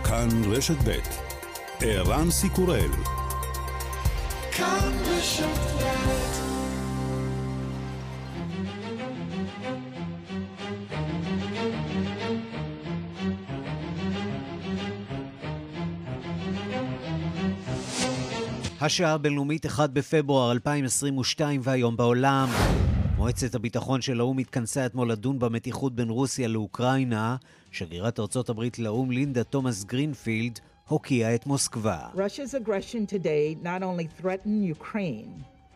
כאן רשת ב' ערן סיקורל. כאן רשת ב'. השעה הבינלאומית 1 בפברואר 2022 והיום בעולם. מועצת הביטחון של האו"ם התכנסה אתמול לדון במתיחות בין רוסיה לאוקראינה. שגרירת ארצות הברית לאו"ם לינדה תומאס גרינפילד הוקיעה את מוסקבה. Russia's aggression today not only threatened Ukraine,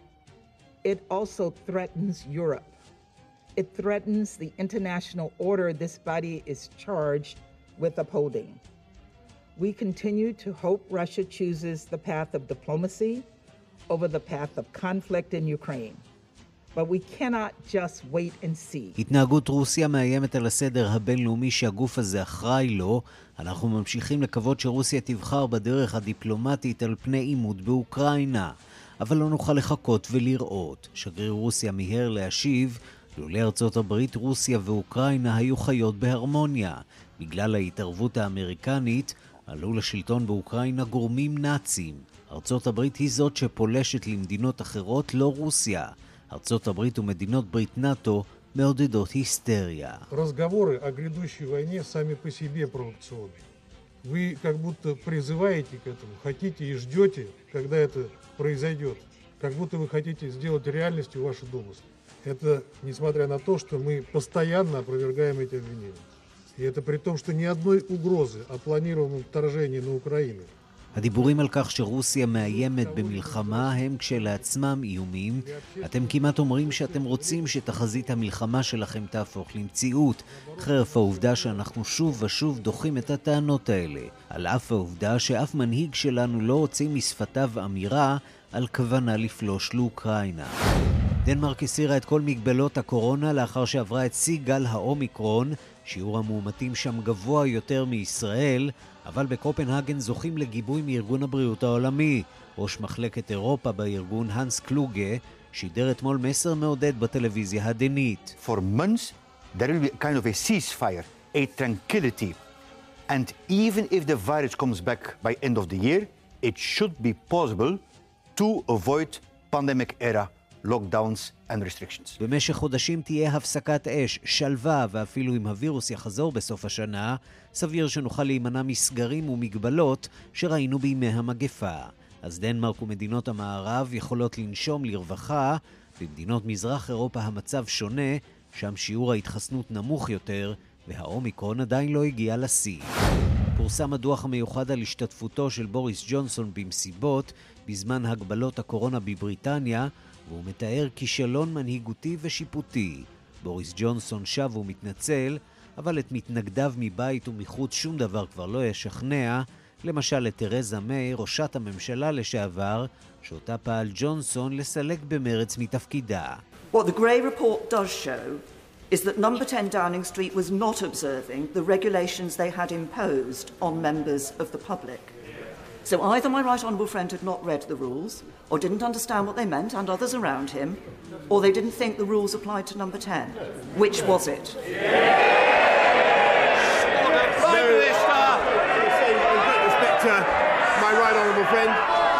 it also threatens Europe. It threatens the international order this body is charged with upholding. We continue to hope Russia chooses the path of diplomacy over the path of conflict in Ukraine. But we cannot just wait and see. התנהגות רוסיה מאיימת על הסדר הבינלאומי שהגוף הזה אחראי לו. אנחנו ממשיכים לקוות שרוסיה תבחר בדרך הדיפלומטית על פני עימות באוקראינה. אבל לא נוכל לחכות ולראות. שגריר רוסיה מיהר להשיב, לולא ארצות הברית, רוסיה ואוקראינה היו חיות בהרמוניה. בגלל ההתערבות האמריקנית, עלו לשלטון באוקראינה גורמים נאצים. ארצות הברית היא זאת שפולשת למדינות אחרות, לא רוסיה. ארצות הברית ומדינות ברית נאטו מעודדות היסטריה. Разговоры о грядущей войне сами по себе провокационны. Вы как будто призываете к этому, хотите и ждете, когда это произойдет. Как будто вы хотите сделать реальностью ваши домыслы. Это несмотря на то, что мы постоянно опровергаем эти обвинения. И это при том, что ни одной угрозы о планированном вторжении на Украину. הדיבורים על כך שרוסיה מאיימת במלחמה הם כשלעצמם איומים. אתם כמעט אומרים שאתם רוצים שתחזית המלחמה שלכם תהפוך למציאות, חרף העובדה שאנחנו שוב ושוב דוחים את הטענות האלה, על אף העובדה שאף מנהיג שלנו לא הוציא משפתיו אמירה על כוונה לפלוש לאוקראינה. דנמרק הסירה את כל מגבלות הקורונה לאחר שעברה את שיא גל האומיקרון. שיעור המאומתים שם גבוה יותר מישראל, אבל בקופנהגן זוכים לגיבוי מארגון הבריאות העולמי. ראש מחלקת אירופה בארגון הנס קלוגה שידר אתמול מסר מעודד בטלוויזיה הדנית. For months there will be kind of a ceasefire, a tranquility. And even if the virus comes back by end of the year, it should be possible to avoid pandemic era lockdowns and restrictions. במשך חודשים תהיה הפסקת אש, שלווה, ואפילו אם הווירוס יחזור בסוף השנה, סביר שנוכל להימנע מסגרים ומגבלות שראינו בימי המגפה. אז דנמרק ומדינות המערב יכולות לנשום לרווחה. במדינות מזרח אירופה המצב שונה, שם שיעור ההתחסנות נמוך יותר, והאומיקרון עדיין לא הגיע לשיא. פורסם הדוח המיוחד על השתתפותו של בוריס ג'ונסון במסיבות בזמן הגבלות הקורונה בבריטניה, והוא מתאר כישלון מנהיגותי ושיפוטי. בוריס ג'ונסון שב ומתנצל, אבל את מתנגדיו מבית ומחוץ שום דבר כבר לא ישכנע, למשל את תרזה מיי, ראשת הממשלה לשעבר, שאותה פעל ג'ונסון לסלק במרץ מתפקידה. What the Gray report does show is that number 10 Downing Street was not observing the regulations they had imposed on members of the public. So either my right honourable friend had not read the rules, or didn't understand what they meant, and others around him, or they didn't think the rules applied to number 10. Which was it? Prime Minister! With respect to my right honourable friend,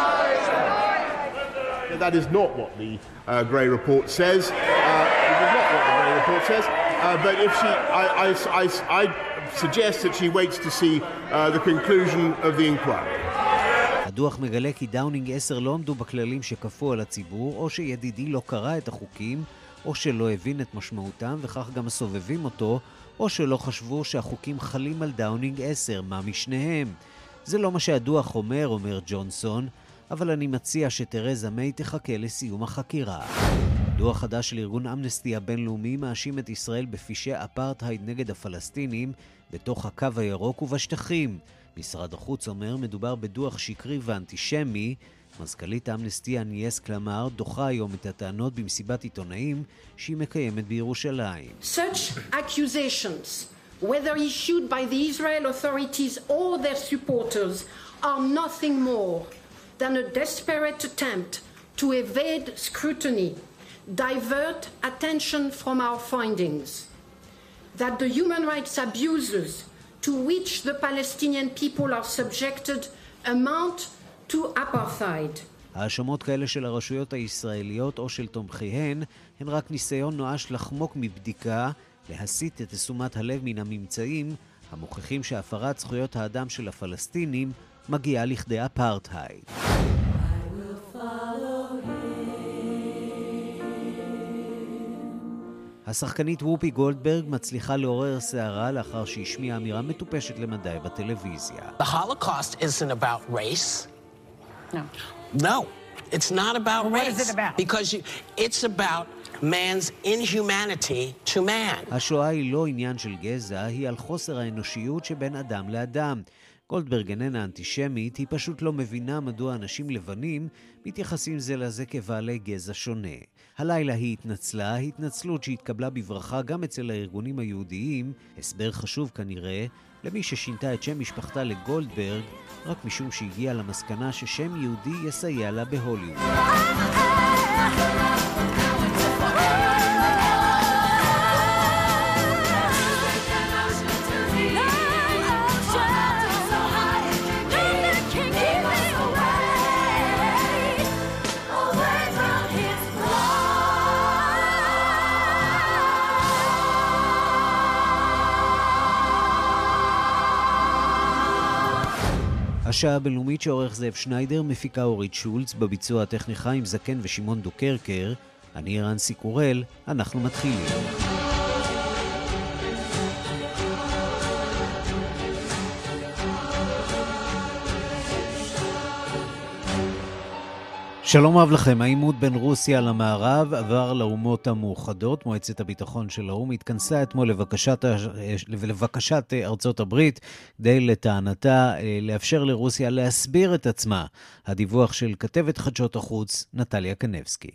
that is not what the Gray report says. It is not what the Gray report says. But if she, I suggest that she waits to see the conclusion of the inquiry. הדוח מגלה כי דאונינג 10 לא עמדו בכללים שכפו על הציבור, או שידידי לא קרא את החוקים, או שלא הבין את משמעותם וכך גם סובבים אותו, או שלא חשבו שהחוקים חלים על דאונינג 10, מה משניהם. זה לא מה שהדוח אומר ג'ונסון, אבל אני מציע שתרזה מיי תחכה לסיום החקירה. דוח חדש של ארגון אמנסטי הבינלאומי מאשים את ישראל בפשעי אפרטהייד נגד הפלסטינים בתוך הקו הירוק ובשטחים. משרד החוץ אומר מדובר בדוח שקרי ואנטישמי. מזכ"לית אמנסטי אניאס קלמר דוחה היום את הטענות במסיבת עיתונאים שהיא מקיימת בירושלים. Such accusations, whether issued by the Israel authorities or their supporters, are nothing more than a desperate attempt to evade scrutiny, divert attention from our findings, that the human rights abuses to which the Palestinian people are subjected amount to apartheid. האשמות כאלה של הרשויות הישראליות או של תומכיהן הן רק ניסיון נואש לחמוק מבדיקה, להסיט את תשומת הלב מן הממצאים המוכיחים שהפרת זכויות האדם של הפלסטינים מגיעה לכדי אפרטהייד. השחקנית וופי גולדברג מצליחה לעורר סערה לאחר שהשמיעה אמירה מטופשת למדי בטלוויזיה. The Holocaust isn't about race. No, it's not about race. What is it about? Because it's about man's inhumanity to man. השואה היא לא עניין של גזע, היא על חוסר האנושיות שבין אדם לאדם. גולדברג איננה אנטישמית, היא פשוט לא מבינה מדוע אנשים לבנים מתייחסים זה לזה כבעלי גזע שונה. הלילה היא התנצלה, התנצלות שהתקבלה בברכה גם אצל הארגונים היהודיים, הסבר חשוב כנראה למי ששינתה את שם משפחתה לגולדברג, רק משום שהגיעה למסקנה ששם יהודי יסייע לה בהוליווד. השעה הבינלאומית שעורך זאב שניידר, מפיקה אורית שולץ, בביצוע הטכני חיים זקן ושמעון דוקרקר. אני רנסי קורל, אנחנו מתחילים. שלום רב לכם. העימות בין רוסיה למערב עבר לאומות המאוחדות. מועצת הביטחון של האו"ם התכנסה אתמול לבקשת ארצות הברית כדי לטענתה לאפשר לרוסיה להסביר את עצמה. הדיווח של כתבת חדשות החוץ נטליה קנבסקי.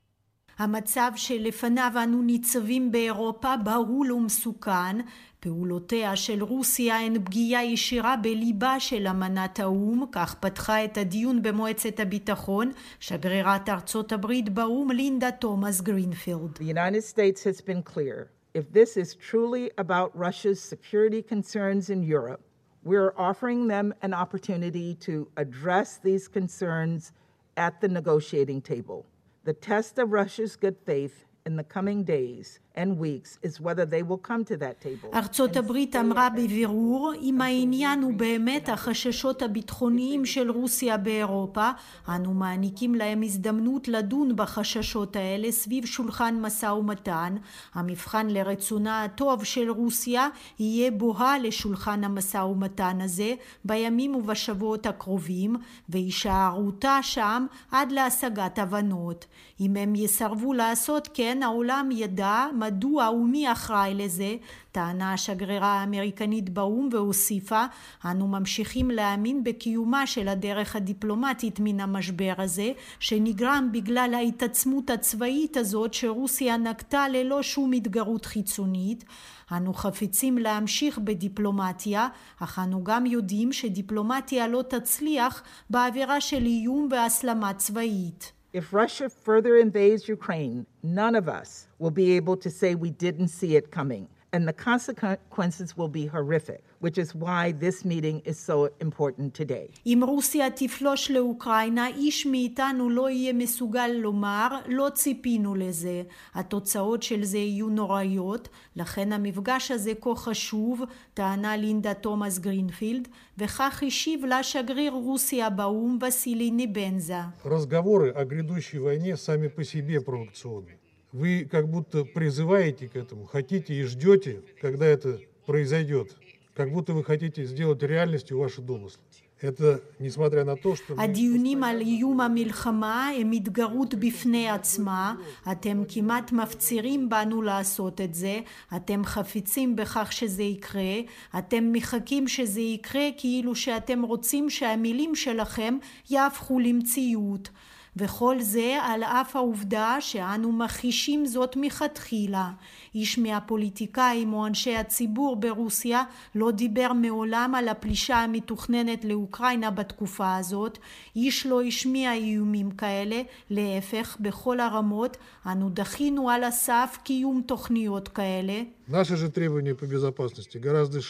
המצב שלפניו אנו ניצבים באירופה בהול ומסוכן. פעולותיה של רוסיה הן פגיעה ישירה בליבה של אמנת האו"ם, כך פתחה את הדיון במועצת הביטחון שגרירת ארצות הברית באו"ם לינדה תומאס גרינפילד. The United States has been clear. If this is truly about Russia's security concerns in Europe, we're offering them an opportunity to address these concerns at the negotiating table. The test of Russia's good faith in the coming days and weeks is whether they will come to that table. ארצות הברית אמרה בבירור, אם העניין הוא באמת החששות הביטחוניים של רוסיה באירופה, אנו מעניקים להם הזדמנות לדון בחששות האלה סביב שולחן משא ומתן. המבחן לרצונה הטוב של רוסיה יהיה בואה לשולחן המשא ומתן הזה בימים ובשבועות הקרובים, והישארותה שם עד להשגת הבנות. אם הם יסרבו לעשות כן, העולם ידע מדוע ומי אחראי לזה, טענה השגרירה האמריקנית באו"ם והוסיפה, אנו ממשיכים להאמין בקיומה של הדרך הדיפלומטית מן המשבר הזה, שנגרם בגלל ההתעצמות הצבאית הזאת שרוסיה נקטה ללא שום התגרות חיצונית. אנו חפצים להמשיך בדיפלומטיה, אך אנו גם יודעים שדיפלומטיה לא תצליח באווירה של איום והסלמה צבאית. If Russia further invades Ukraine, none of us will be able to say we didn't see it coming. And the consequences will be horrific, which is why this meeting is so important today. אם רוסיה תפלוש לאוקראינה, איש מאיתנו לא יהיה מסוגל לומר, לא ציפינו לזה. התוצאות של זה יהיו נוראיות, לכן המפגש הזה כה חשוב, טענה לינדה תומאס גרינפילד, וכך השיב לה שגריר רוסיה באו"ם וסילי ניבנזה. Разговоры о грядущей войне сами по себе провокационны. Вы как будто призываете к этому, хотите и ждете, когда это произойдет. Как будто вы хотите сделать реальностью ваши домыслы. Это несмотря на то, что... הדיונים על איום המלחמה הם התגרות בפני עצמה. אתם כמעט מפצירים בנו לעשות את זה. אתם חפצים בכך שזה יקרה. אתם מחכים שזה יקרה כאילו שאתם רוצים שהמילים שלכם יהפכו למציאות. וכל זה על אף העובדה שאנו מכחישים זאת מתחילה. איש מהפוליטיקאים או אנשי הציבור ברוסיה לא דיבר מעולם על הפלישה המתוכננת לאוקראינה בתקופה הזאת. איש לא השמיע איומים כאלה, להפך בכל הרמות אנו דחינו על הסף קיום תוכניות כאלה. Наши же требования по безопасности гораздо шире.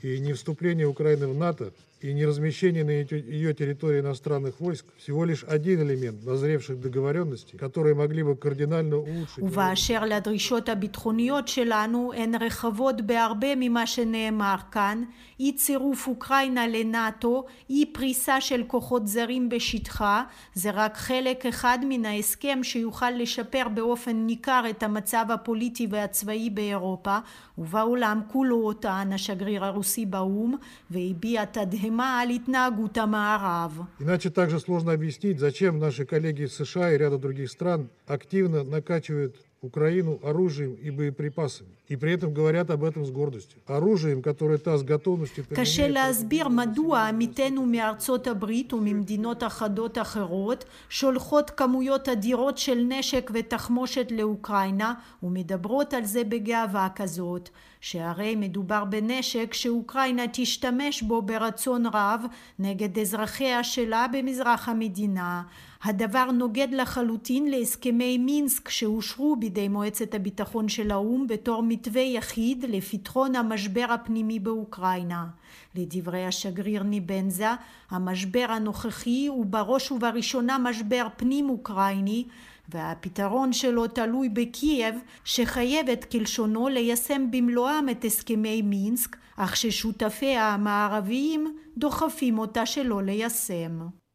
И не вступление Украины в НАТО, и не размещение на ее территории иностранных войск всего лишь один элемент назревших договоренностей, которые могли бы кардинально улучшить. ובאשר לדרישות הביטחוניות שלנו הן רחבות בהרבה ממה שנאמר כאן, אי צירוף אוקראינה לנאטו, אי פריסה של כוחות זרים בשטחה, זה רק חלק אחד מן ההסכם שיוכל לשפר באופן ניכר את המצב הפוליטי והצבאי באירופה, ובעולם כולו, טען השגריר הרוסי באו"ם, והביע תדהמה על התנהגות המערב. Иначе также сложно объяснить, зачем наши коллеги из США и ряда других стран активно накачивают Украину оружием и боеприпасами. И при этом говорят об этом с гордостью. Оружием, которое та с готовностью... קשה להסביר מדוע עמיתינו מארצות הברית וממדינות אחדות אחרות שולחות כמויות אדירות של נשק ותחמושת לאוקראינה ומדברות על זה בגאווה כזאת. שהרי מדובר בנשק שאוקראינה תשתמש בו ברצון רב נגד אזרחיה שלה במזרח המדינה. הדבר נוגד לחלוטין להסכמי מינסק שאושרו בידי מועצת הביטחון של האו"ם בתור מתווה יחיד לפתרון המשבר הפנימי באוקראינה. לדברי השגריר ניבנזה, המשבר הנוכחי הוא בראש ובראשונה משבר פנים אוקראיני, והפתרון שלו תלוי בקייב שחייבת כלשונו ליישם במלואם את הסכמי מינסק, אך ששותפיה המערביים דוחפים אותה שלא ליישם.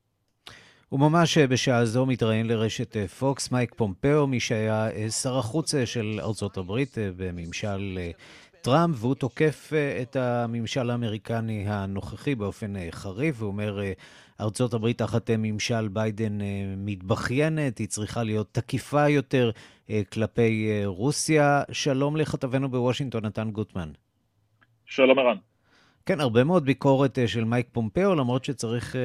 וממש בשעה זו מתראיין לרשת פוקס מייק פומפאו, מי שהיה שר החוץ של ארצות הברית בממשל טראמפ, והוא תוקף את הממשל האמריקני הנוכחי באופן חריף, הוא אומר ארצות הברית תחת ממשל ביידן מתבחיינת, היא צריכה להיות תקיפה יותר כלפי רוסיה. שלום לכתבנו בוושינגטון, נתן גוטמן. שלום ערן. כן, הרבה מאוד ביקורת של מייק פומפאו, למרות שצריך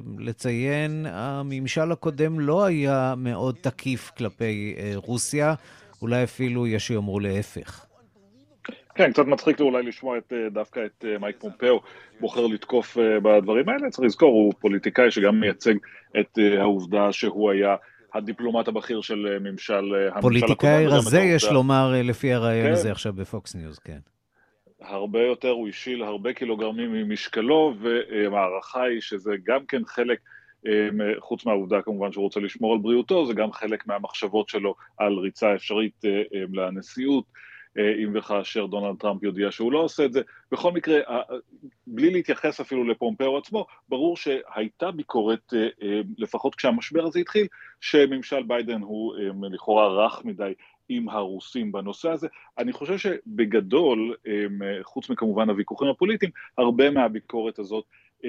לציין, הממשל הקודם לא היה מאוד תקיף כלפי רוסיה, אולי אפילו יש שיאמרו להפך. כן, קצת מצחיק אולי לשמוע דווקא את מייק פומפאו בוחר לתקוף בדברים האלה. צריך לזכור, הוא פוליטיקאי שגם מייצג את העובדה שהוא היה הדיפלומט הבכיר של ממשל הקודם. פוליטיקאי רזה יש לומר לפי הרעיון הזה עכשיו בפוקס ניוז, כן. הרבה יותר, הוא השיל הרבה קילוגרמים ממשקלו, והערכה היא שזה גם כן חלק, חוץ מהעובדה כמובן שהוא רוצה לשמור על בריאותו, זה גם חלק מהמחשבות שלו על ריצה אפשרית לנשיאות, אם וכאשר דונלד טראמפ יודיע שהוא לא עושה את זה. בכל מקרה, בלי להתייחס אפילו לפומפאו עצמו, ברור שהייתה ביקורת, לפחות כשהמשבר הזה התחיל, שממשל ביידן הוא לכאורה רך מדי עם הרוסים בנושא הזה. אני חושב שבגדול, חוץ מכמובן הוויכוחים הפוליטיים, הרבה מהביקורת הזאת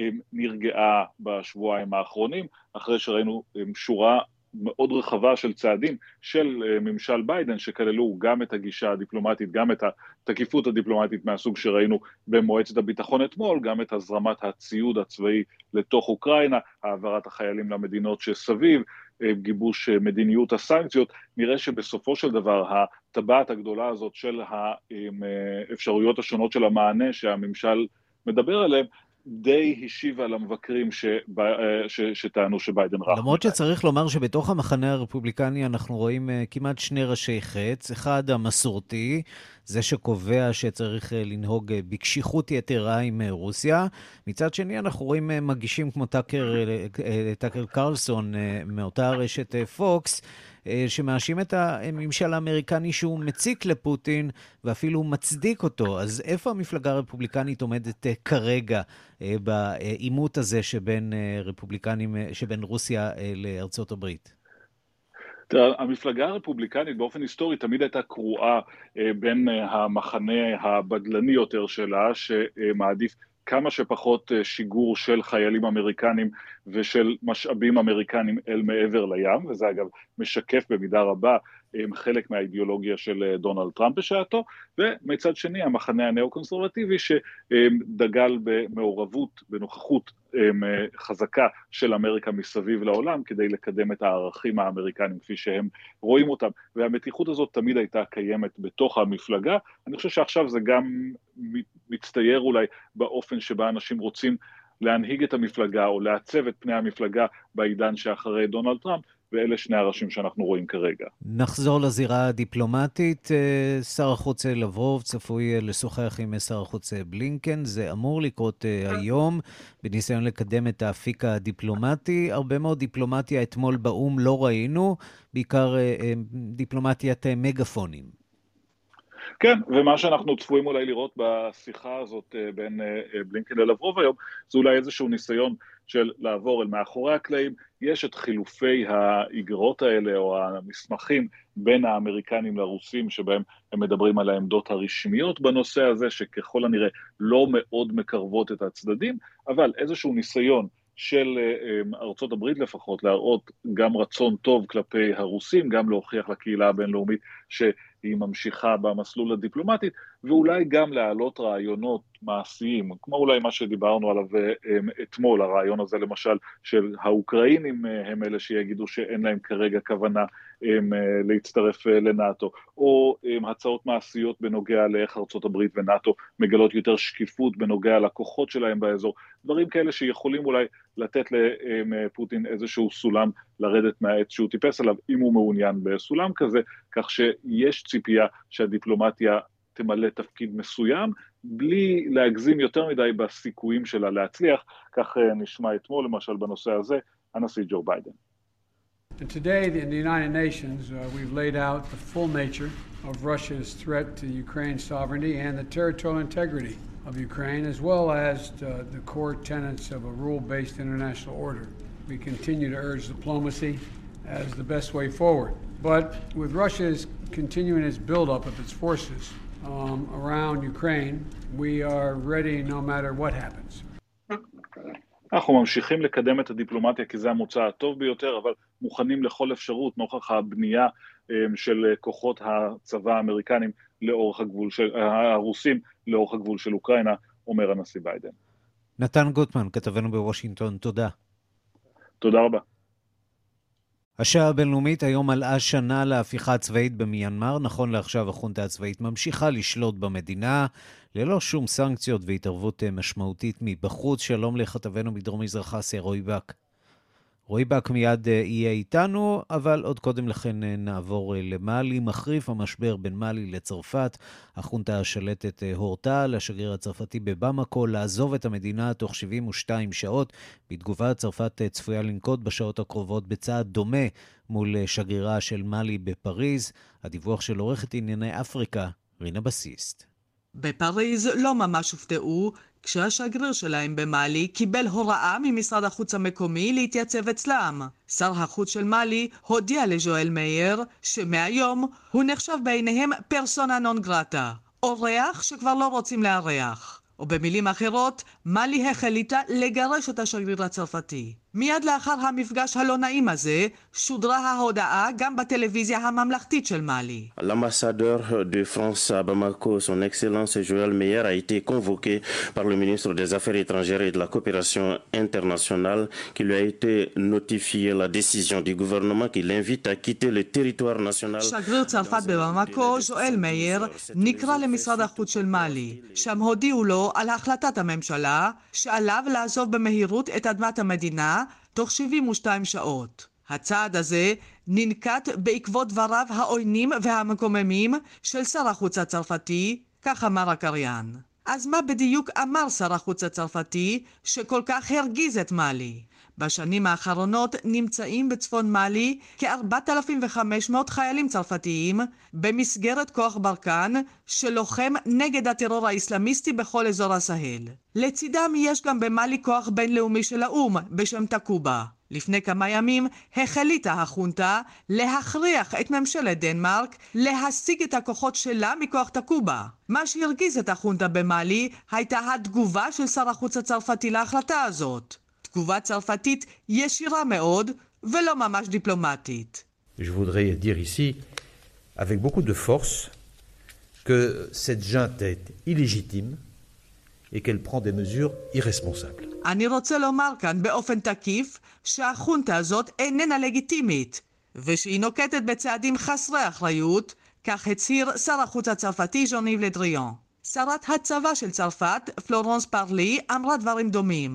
נרגעה בשבועיים האחרונים, אחרי שראינו שורה מאוד רחבה של צעדים של ממשל ביידן, שכללו גם את הגישה הדיפלומטית, גם את התקיפות הדיפלומטית מהסוג שראינו במועצת הביטחון אתמול, גם את הזרמת הציוד הצבאי לתוך אוקראינה, העברת החיילים למדינות שסביב, גיבוש מדיניות הסנקציות. נראה שבסופו של דבר הטבעת הגדולה הזאת של האפשרויות השונות של המענה שהממשל מדבר עליהם, די השיבה למבקרים שטענו שביידן רח. למרות שצריך לומר שבתוך המחנה הרפובליקני אנחנו רואים כמעט שני ראשי חץ. אחד המסורתי, זה שקובע שצריך לנהוג בקשיחות יתרה עם רוסיה. מצד שני אנחנו רואים מגישים כמו טאקר קרלסון מאותה רשת פוקס, שמאשים את הממשל האמריקני שהוא מציק לפוטין ואפילו מצדיק אותו. אז איפה המפלגה הרפובליקנית עומדת כרגע בעימות הזה שבין רפובליקנים, שבין רוסיה לארצות הברית? המפלגה הרפובליקנית באופן היסטורי תמיד הייתה קרואה בין המחנה הבדלני יותר שלה, שמעדיף כמה שפחות שיגור של חיילים אמריקנים ושל משאבים אמריקנים אל מעבר לים, וזה אגב משקף במידה רבה חלק מהאידיאולוגיה של דונלד טראמפ בשעתו, ומצד שני המחנה הנאו-קונסרבטיבי שדגל במעורבות, בנוכחות חזקה של אמריקה מסביב לעולם, כדי לקדם את הערכים האמריקנים כפי שהם רואים אותם, והמתיחות הזאת תמיד הייתה קיימת בתוך המפלגה. אני חושב שעכשיו זה גם מצטייר אולי באופן שבה אנשים רוצים להנהיג את המפלגה, או לעצב את פני המפלגה בעידן שאחרי דונלד טראמפ, ואלה שני הראשים שאנחנו רואים כרגע. נחזור לזירה הדיפלומטית. שר החוץ לברוב צפוי לשוחח עם שר החוץ בלינקן. זה אמור לקרות היום בניסיון לקדם את האפיק הדיפלומטי. הרבה מאוד דיפלומטיה אתמול באום לא ראינו, בעיקר דיפלומטיית מגפונים. כן, ומה שאנחנו צפויים אולי לראות בשיחה הזאת בין בלינקן ללברוב היום, זה אולי איזשהו ניסיון של לעבור אל מאחורי הקלעים. יש את חילופי האיגרות האלה או המסמכים בין האמריקנים לרוסים, שבהם הם מדברים על העמדות הרשמיות בנושא הזה, שככל הנראה לא מאוד מקרבות את הצדדים, אבל איזשהו ניסיון של ארצות הברית לפחות, להראות גם רצון טוב כלפי הרוסים, גם להוכיח לקהילה הבינלאומית שהיא ממשיכה במסלול הדיפלומטית, ואולי גם להעלות רעיונות מעשיים, כמו אולי מה שדיברנו עליו אתמול, הרעיון הזה למשל של האוקראינים הם אלה שיגידו שאין להם כרגע כוונה להצטרף לנאטו, או הצעות מעשיות בנוגע לאיך ארצות הברית ונאטו מגלות יותר שקיפות בנוגע לכוחות שלהם באזור, דברים כאלה שיכולים אולי לתת לפוטין איזשהו סולם לרדת מהעץ שהוא טיפס עליו, אם הוא מעוניין בסולם כזה, כך שיש ציפייה שהדיפלומטיה תמלא תפקיד מסוים, בלי להגזים יותר מדי בסיכויים שלה להצליח, כך נשמע אתמול למשל בנושא הזה, הנשיא ג'ו ביידן. And today in the United Nations, we've laid out the full nature of Russia's threat to Ukraine's sovereignty and the territorial integrity of Ukraine, as well as the core tenets of a rule-based international order. We continue to urge diplomacy as the best way forward. But with Russia's continuing its buildup of its forces around Ukraine, we are ready no matter what happens. אנחנו ממשיכים לקדם את הדיפלומטיה כי זה המוצא הטוב ביותר, אבל מוכנים לכל אפשרות נוכח הבנייה של כוחות הצבא האמריקנים לאורך הגבול של הרוסים לאורך הגבול של אוקראינה, אומר הנשיא ביידן. נתן גוטמן, כתבנו בוושינגטון, תודה. תודה רבה. השעה הבינלאומית היום מלאה שנה להפיכה הצבאית במיינמר. נכון לעכשיו החונטה הצבאית ממשיכה לשלוט במדינה ללא שום סנקציות והתערבות משמעותית מבחוץ. שלום לכתבנו מדרום מזרח אסיה רועי בק. רועי בק מיד יהיה איתנו, אבל עוד קודם לכן נעבור למאלי. מחריף המשבר בין מאלי לצרפת. החונטה השלטת הורתה לשגריר הצרפתי בבמקו לעזוב את המדינה תוך 72 שעות. בתגובה צרפת צפויה לנקוט בשעות הקרובות בצעד דומה מול שגרירה של מאלי בפריז. הדיווח של עורכת ענייני אפריקה, רינה בסיסט. בפריז לא ממש הופתעו כשהשגריר שלהם במאלי קיבל הוראה ממשרד החוץ המקומי להתייצב אצלם. שר החוץ של מאלי הודיע לז'ואל מאייר שמהיום הוא נחשב בעיניהם פרסונה נון גרטה, אורח שכבר לא רוצים לארח. או במילים אחרות, מאלי החליטה לגרש את השגריר הצרפתי. מיד לאחר המפגש הלא נעים הזה, שודרה ההודעה גם בטלוויזיה הממלכתית של מאלי. L'ambassadeur de France à Bamako, son excellence Joël Meyer, a été convoqué par le ministre des Affaires étrangères et de la coopération internationale qui lui a été notifié la décision du gouvernement qui l'invite à quitter le territoire national. שגריר צרפת בבמקו, ז'ואל מאייר, נקרא למשרד החוץ של מאלי. שם הודיעו לו על החלטת הממשלה שעליו לעזוב במהירות את אדמת המדינה תוך 72 שעות. הצעד הזה ננקט בעקבות דבריו העוינים והמקוממים של שר החוץ הצרפתי, כך אמר הקריין. אז מה בדיוק אמר שר החוץ הצרפתי שכל כך הרגיז את מאלי? בשנים האחרונות נמצאים בצפון מאלי כ-4,500 חיילים צרפתיים במסגרת כוח ברקן שלוחם נגד הטרור האסלאמיסטי בכל אזור הסהל. לצידם יש גם במאלי כוח בינלאומי של האום בשם תקובה. לפני כמה ימים החליטה החונטה להכריח את ממשלת דנמרק להשיג את הכוחות שלה מכוח תקובה. מה שהרגיז את החונטה במאלי הייתה התגובה של שר החוץ הצרפתי להחלטה הזאת. תגובה צרפתית ישירה מאוד ולא ממש דיפלומטית. Je voudrais dire ici avec beaucoup de force que cette junte est illégitime et qu'elle prend des mesures irresponsables. אני רוצה לומר כאן באופן תקיף שהחונטה הזאת איננה לגיטימית ושהיא נוקטת בצעדים חסרי אחריות, כך הצהיר שר החוץ הצרפתי ז'אן-יב לדריאן. שרת הצבא של צרפת, פלורנס פרלי, אמרה דברים דומים.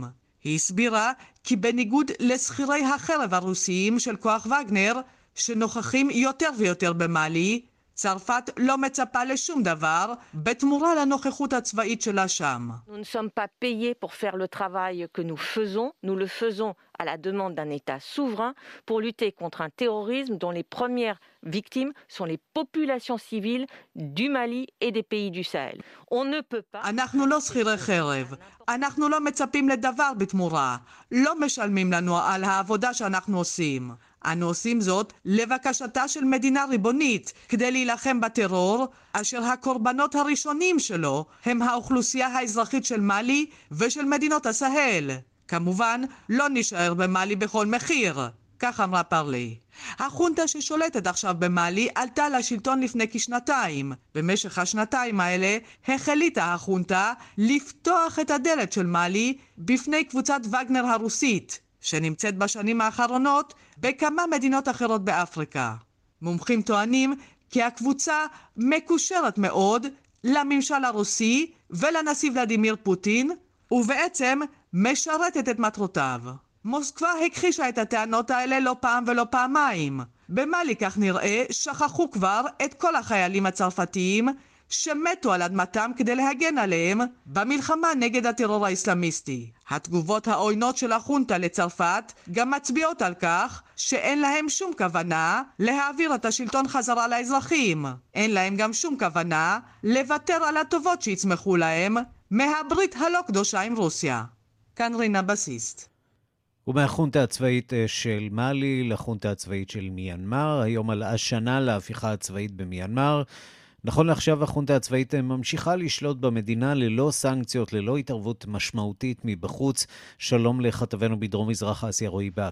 היא הסבירה כי בניגוד לשכירי החרב הרוסיים של כוח וגנר, שנוכחים יותר ויותר במאלי, צרפת לא מצפה לשום דבר בתמורה לנוכחות הצבאית שלה שם. Nous ne sommes pas payés pour faire le travail que nous le faisons à la demande d'un État souverain pour lutter contre un terrorisme dont les premières victimes sont les populations civiles du Mali et des pays du Sahel. On ne peut pas... אנחנו לא שכירי חרב, אנחנו לא מצפים לדבר בתמורה, לא משלמים לנו על העבודה שאנחנו עושים. אנו עושים זאת לבקשתה של מדינה ריבונית כדי להילחם בטרור, אשר הקורבנות הראשונים שלו הם האוכלוסייה האזרחית של מאלי ושל מדינות הסהל. כמובן, לא נשאר במאלי בכל מחיר, כך אמרה פרלי. החונטה ששולטת עכשיו במאלי עלתה לשלטון לפני כשנתיים. במשך השנתיים האלה החליטה החונטה לפתוח את הדלת של מאלי בפני קבוצת וגנר הרוסית, שנמצאת בשנים האחרונות בכמה מדינות אחרות באפריקה. מומחים טוענים כי הקבוצה מקושרת מאוד לממשל הרוסי ולנשיא ולדימיר פוטין, ובעצם משרתת את מטרותיו. מוסקבה הכחישה את הטענות האלה לא פעם ולא פעמיים. במאלי, כך נראה, שכחו כבר את כל החיילים הצרפתיים שמתו על אדמתם כדי להגן עליהם במלחמה נגד הטרור האסלאמיסטי. התגובות העוינות של החונטה לצרפת גם מצביעות על כך שאין להם שום כוונה להעביר את השלטון חזרה לאזרחים. אין להם גם שום כוונה לוותר על הטובות שיצמחו להם מהברית הלא קדושה עם רוסיה. כאן רינה בסיסט. ומהחונטה הצבאית של מאלי לחונטה הצבאית של מיינמר, היום על השנה להפיכה הצבאית במיינמר. נכון לעכשיו החונטה הצבאית ממשיכה לשלוט במדינה ללא סנקציות, ללא התערבות משמעותית מבחוץ. שלום לכתבנו בדרום מזרח אסיה רועי בק.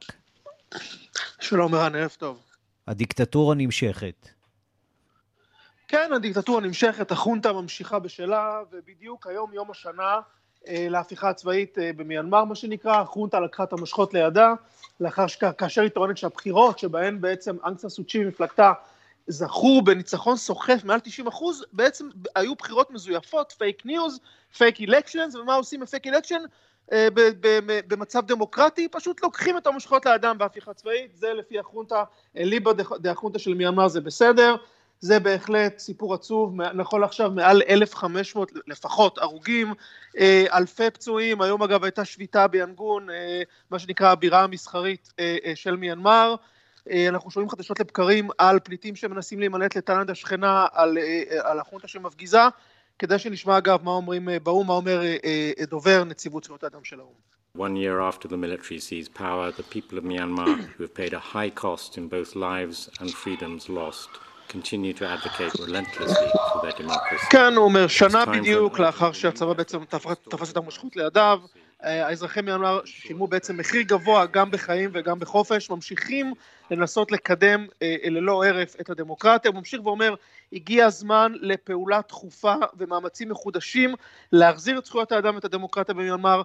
שלום ערן, ערב טוב. הדיקטטורה נמשכת. כן, הדיקטטורה נמשכת, החונטה ממשיכה בשלה, ובדיוק היום יום השנה להפיכה הצבאית במיינמר, מה שנקרא. החונטה לקחה את המשחות לידה, כאשר היא טוענת שהבחירות שבהן בעצם אנג סאן סו צ'י ומפלגתה זכו בניצחון סוחף מעל 90%, בעצם היו בחירות מזויפות, פייק ניוז, פייק אלקשנס, ומה עושים בפייק אלקשן? במצב דמוקרטי, פשוט לוקחים את המשחות לאדם בהפיכה צבאית. זה לפי החונטה, ליבה דה החונטה של מיינמר, זה בסדר. זה בהחלט סיפור עצוב. נכון עכשיו מעל 1,500 לפחות הרוגים, אלפי פצועים. היום אגב הייתה שביתה ביאנגון, מה שנקרא הבירה המסחרית של מיינמר. אנחנו שומעים חדשות לבקרים על פליטים שמנסים להימלט לתאילנד השכנה, על החונטה שמפגיזה. כדי שנשמע אגב מה אומרים באום, מה אומר דובר נציבות זכויות האדם של האום. One year after the military seized power, the people of Myanmar, who have paid a high cost in both lives and freedoms lost, continue to advocate relentlessly for their democracy. כן, הוא אומר, שנה בדיוק לאחר שהצבא בעצם תפס את המשחות לידיו, האזרחי מיינמר שילמו בעצם מחיר גבוה גם בחיים וגם בחופש, ממשיכים לנסות לקדם ללא הרף את הדמוקרטיה. הוא ממשיך ואומר, הגיע הזמן לפעולה דחופה ומאמצים מחודשים להחזיר את זכויות האדם ואת הדמוקרטיה במיינמר,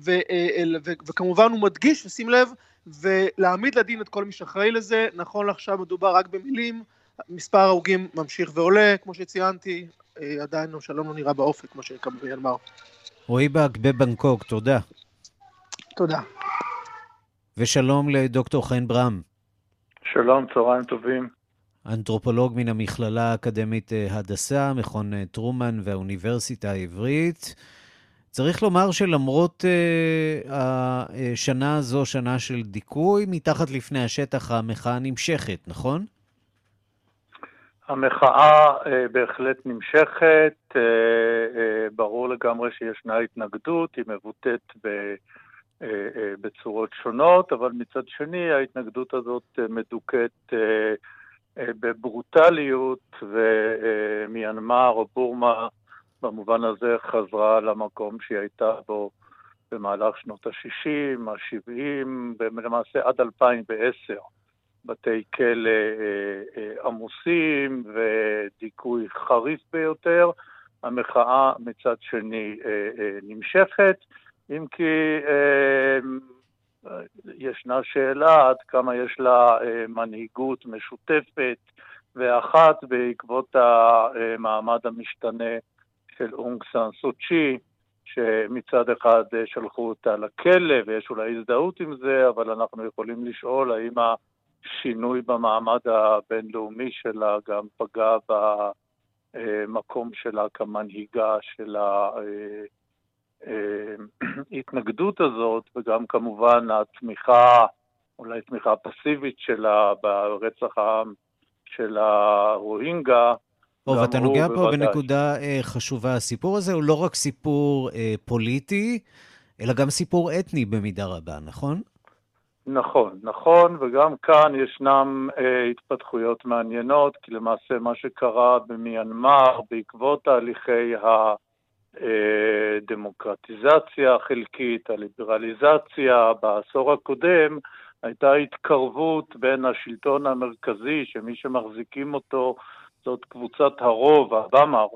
וכמובן הוא מדגיש, ושים לב, ולהעמיד לדין את כל מי שאחראי לזה. נכון לעכשיו מדובר רק במילים, מספר ההרוגים ממשיך ועולה, כמו שציינתי, עדיין שלום לא נראה באופק, כמו שנקרא במיינמר. רועי בק בבנקוק, תודה. תודה. ושלום לדוקטור חן ברם. שלום, צהריים טובים. אנתרופולוג מן המכללה האקדמית הדסה, מכון טרומן והאוניברסיטה העברית. צריך לומר שלמרות השנה הזו, שנה של דיכוי, מתחת לפני השטח המחאה נמשכת, נכון? המחאה בהחלט נמשכת, ברור לגמרי שישנה התנגדות, היא מבוטאת בצורות שונות, אבל מצד שני ההתנגדות הזאת מדוכאת בברוטליות, ומיינמר או בורמה במובן הזה חזרה למקום שהיא הייתה בו במהלך שנות ה-60, ה-70, למעשה עד 2010. בתי כלא עמוסים ודיכוי חריף ביותר. המחאה מצד שני נמשכת, אם כי ישנה שאלה עד כמה יש לה מנהיגות משותפת ואחת בעקבות המעמד המשתנה של אונג סאן סו צ'י, שמצד אחד שלחו אותה לכלא, ויש אולי הזדהות עם זה, אבל אנחנו יכולים לשאול האם השינוי במעמד הבינלאומי שלה גם פגע במקום שלה כמנהיגה של ההתנגדות הזאת, וגם כמובן התמיכה, אולי תמיכה פסיבית שלה ברצח העם של הרוהינגה. ואתה נוגע פה בנקודה חשובה. הסיפור הזה הוא לא רק סיפור פוליטי, אלא גם סיפור אתני במידה רבה, נכון? נכון, וגם כאן ישנם התפתחויות מעניינות, כי למעשה מה שקרה במיינמר בעקבות תהליכי הדמוקרטיזציה החלקית, הליברליזציה בעשור הקודם, הייתה התקרבות בין השלטון המרכזי, שמי שמחזיקים אותו זאת קבוצת הרוב, הבאמר,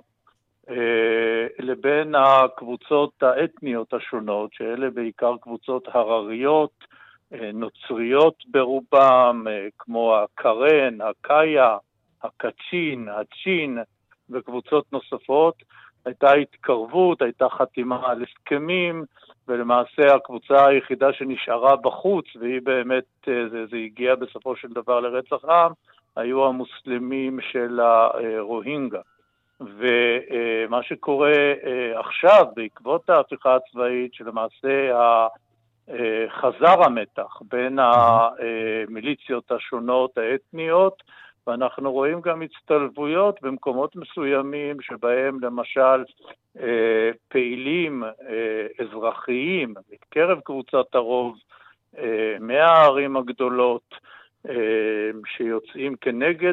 לבין הקבוצות האתניות השונות, שאלה בעיקר קבוצות הרריות, נוצריות ברובם, כמו הקרן, הקאיה, הקצ'ין, הצ'ין וקבוצות נוספות. הייתה התקרבות, הייתה חתימה על הסכמים, ולמעשה הקבוצה היחידה שנשארה בחוץ, והיא באמת, זה הגיע בסופו של דבר לרצח עם, היו המוסלמים של הרוהינגה. ומה שקורה עכשיו, בעקבות ההפיכה הצבאית, שלמעשה חזר המתח בין המיליציות השונות האתניות, ואנחנו רואים גם הצטלבויות במקומות מסוימים שבהם למשל פעילים אזרחיים מקרב קבוצת הרוב מהערים הגדולות שיוצאים כנגד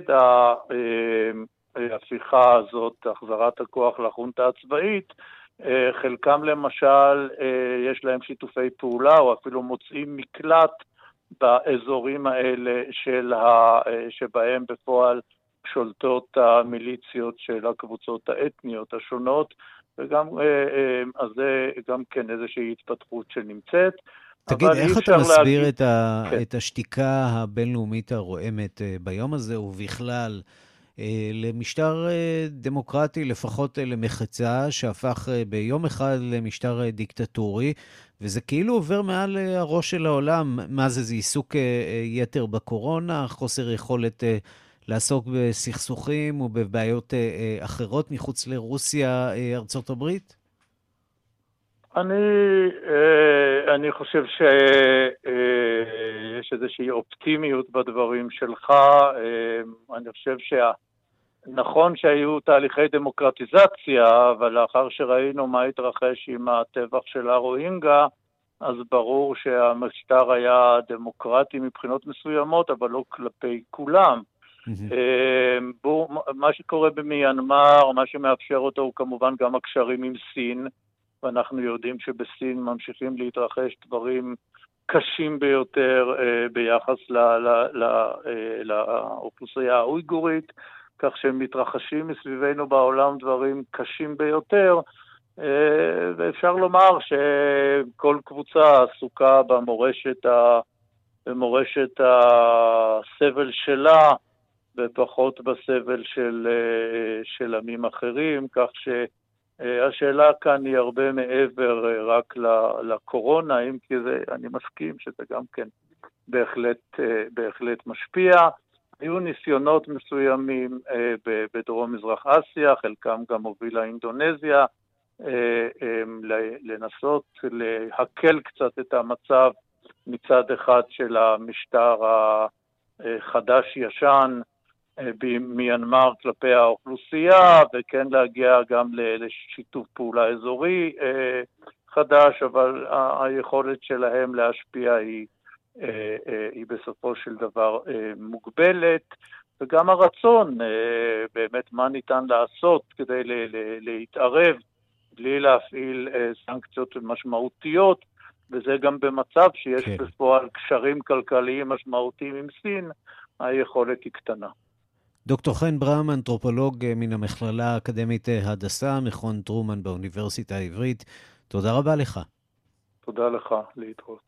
ההפיכה הזאת, החזרת הכוח לחונטה הצבאית, חלקם למשל יש להם שיתופי פעולה או אפילו מוצאים מקלט באזורים האלה שבהם בפועל שולטות המיליציות של הקבוצות האתניות השונות, וגם אז זה גם כן איזושהי התפתחות שנמצאת. תגיד, איך אתה מסביר את השתיקה הבינלאומית הרועמת ביום הזה, ובכלל למשטר דמוקרטי, לפחות למחצה, שהפך ביום אחד למשטר דיקטטורי, וזה כאילו עובר מעל הראש של העולם? מה זה עיסוק יתר בקורונה, חוסר יכולת לעסוק בסכסוכים ובבעיות אחרות מחוץ לרוסיה, ארצות הברית? אני חושב שיש איזושהי אופטימיות בדברים שלך. אני חושב נכון שהיו תהליכי דמוקרטיזציה, אבל לאחר שראינו מה התרחש עם הטבח של הרוהינגה, אז ברור שהמשטר היה דמוקרטי מבחינות מסוימות, אבל לא כלפי כולם. מה שקורה במיינמר, מה שמאפשר אותו הוא כמובן גם הקשרים עם סין, ואנחנו יודעים שבסין ממשיכים להתרחש דברים קשים ביותר ביחס לאוכלוסייה האויגורית, כך שהם מתרחשים מסביבנו בעולם דברים קשים ביותר, ואפשר לומר שכל קבוצה עסוקה במורשת הסבל שלה, ופחות בסבל של עמים אחרים, כך שהשאלה כאן היא הרבה מעבר רק לקורונה, אם כי אני מסכים שזה גם כן בהחלט משפיע. היו ניסיונות מסוימים בדרום מזרח אסיה, חלקם גם הובילה אינדונזיה, לנסות להקל קצת את המצב מצד אחד של המשטר החדש-ישן במיינמר כלפי האוכלוסייה, וכן להגיע גם לשיתוף פעולה אזורי חדש, אבל היכולת שלהם להשפיע היא בסופו של דבר מוגבלת, וגם הרצון באמת מה ניתן לעשות כדי להתערב בלי להפעיל סנקציות משמעותיות, וזה גם במצב שיש בפועל קשרים כלכליים משמעותיים עם סין, היכולת היא קטנה. דוקטור חן ברם, אנתרופולוג מן המכללה האקדמית הדסה, מכון טרומן באוניברסיטה העברית, תודה רבה לך. תודה לך, להתראות.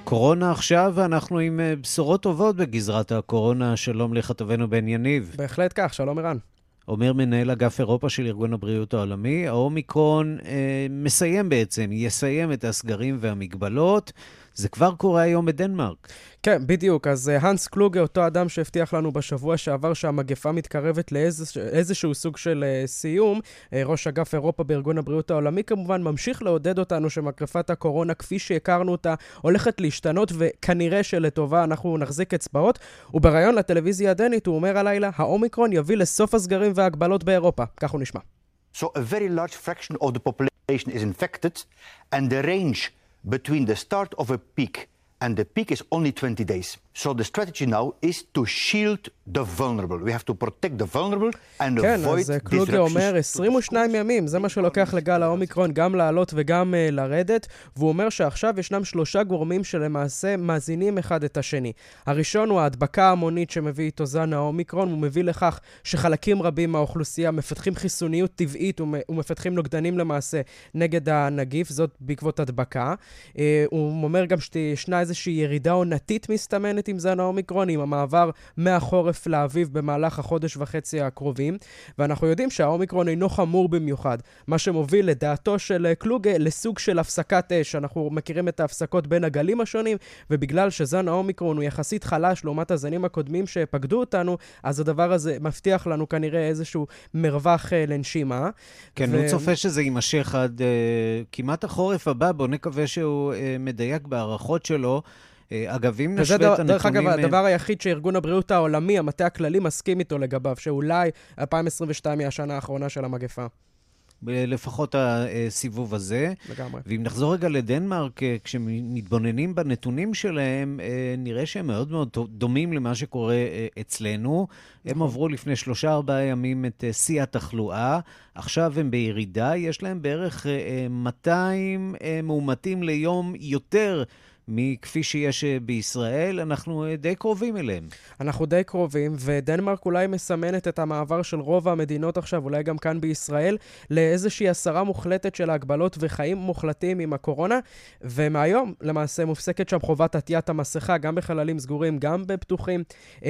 קורונה עכשיו, ואנחנו עם בשורות טובות בגזרת הקורונה. שלום לכתבנו בן יניב. בהחלט כך, שלום ערן. אומר מנהל אגף אירופה של ארגון הבריאות העולמי, האומיקרון יסיים את הסגרים והמגבלות. זה כבר קורה היום בדנמרק. כן, בדיוק. אז הנס קלוגה, אותו אדם שהבטיח לנו בשבוע שעבר שהמגפה מתקרבת לאיזשהו סוג של סיום, ראש אגף אירופה בארגון הבריאות העולמי, כמובן ממשיך לעודד אותנו שמגפת הקורונה, כפי שהכרנו אותה, הולכת להשתנות, וכנראה שלטובה אנחנו נחזיק אצבעות. ובראיון לטלוויזיה הדנית הוא אומר הלילה, האומיקרון יביא לסוף הסגרים וההגבלות באירופה. כך הוא נשמע. So a very large fraction of the population is infected, and the range between the start of a peak and the peak is only 20 days. So the strategy now is to shield the vulnerable. We have to protect the vulnerable and avoid disruptions. כן, אז קלוגה אומר 22 ימים, זה מה שלוקח לגל האומיקרון גם לעלות וגם לרדת, והוא אומר שעכשיו ישנם 3 גורמים שלמעשה מאזינים אחד את השני. הראשון הוא ההדבקה ההמונית שמביא איתו זן האומיקרון, הוא מביא לכך שחלקים רבים מהאוכלוסייה מפתחים חיסוניות טבעית ומפתחים נוגדנים למעשה נגד הנגיף, זאת בעקבות הדבקה. הוא אומר גם שישנה איזושהי ירידה עונתית מסתמנת עם זן האומיקרון, עם המעבר מהחורף לאביב במהלך החודש וחצי הקרובים, ואנחנו יודעים שהאומיקרון אינו חמור במיוחד, מה שמוביל לדעתו של קלוגה לסוג של הפסקת אש. אנחנו מכירים את ההפסקות בין הגלים השונים, ובגלל שזן האומיקרון הוא יחסית חלש לעומת הזנים הקודמים שפקדו אותנו, אז הדבר הזה מבטיח לנו כנראה איזשהו מרווח לנשימה. כן, הוא צופה שזה יימשך עד כמעט החורף הבא, בוא נקווה שהוא מדייק בערכות שלו. אגב, אם נשווה את הנתונים... דרך אגב, הדבר היחיד שארגון הבריאות העולמי, המטה הכללי, מסכים איתו לגביו, שאולי 2022 היא השנה האחרונה של המגפה. לפחות הסיבוב הזה. לגמרי. ואם נחזור רגע לדנמרק, כשמתבוננים בנתונים שלהם, נראה שהם מאוד מאוד דומים למה שקורה אצלנו. הם עברו לפני 3-4 ימים את שיא התחלואה, עכשיו הם בירידה, יש להם בערך 200 מאומתים ליום יותר מכפי שיש בישראל. אנחנו די קרובים אליהם. אנחנו די קרובים, ודנמרק אולי מסמנת את המעבר של רוב המדינות עכשיו, אולי גם כאן בישראל, לאיזושהי הסרה מוחלטת של ההגבלות וחיים מוחלטים עם הקורונה, ומהיום למעשה מופסקת שם חובת עטיית המסכה, גם בחללים סגורים, גם בפתוחים.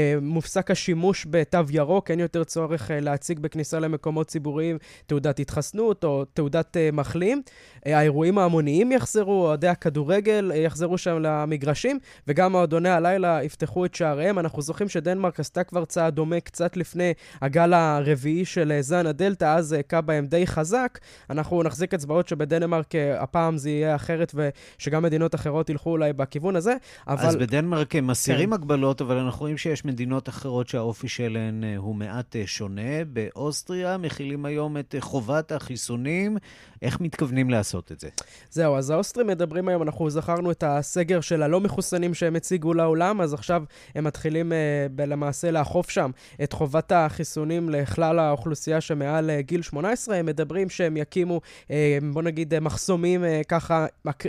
מופסק השימוש בתו ירוק, אין יותר צורך להציג בכניסה למקומות ציבוריים תעודת התחסנות או תעודת מחלים. האירועים ההמוניים יחזרו, אוהדי הכדורגל יחזרו שם למגרשים, וגם מועדוני הלילה יפתחו את שעריהם. אנחנו זוכרים שדנמרק עשתה כבר צעד דומה קצת לפני הגל הרביעי של זן הדלטה, אז קה בהם די חזק. אנחנו נחזיק אצבעות שבדנמרק הפעם זה יהיה אחרת, ושגם מדינות אחרות ילכו אולי בכיוון הזה. אז בדנמרק הם מסירים הגבלות, אבל אנחנו רואים שיש מדינות אחרות שהאופי שלהן הוא מעט שונה. באוסטריה מכילים היום את חובת החיסונים. איך מתכוונים לעשות את זה? זהו, אז האוסטרים מדברים היום, אנחנו זכרנו את הסגר של הלא מחוסנים שהם הציגו לעולם, אז עכשיו הם מתחילים למעשה לאכוף שם את חובת החיסונים לכלל האוכלוסייה שמעל גיל 18. הם מדברים שהם יקימו, בוא נגיד, מחסומים ככה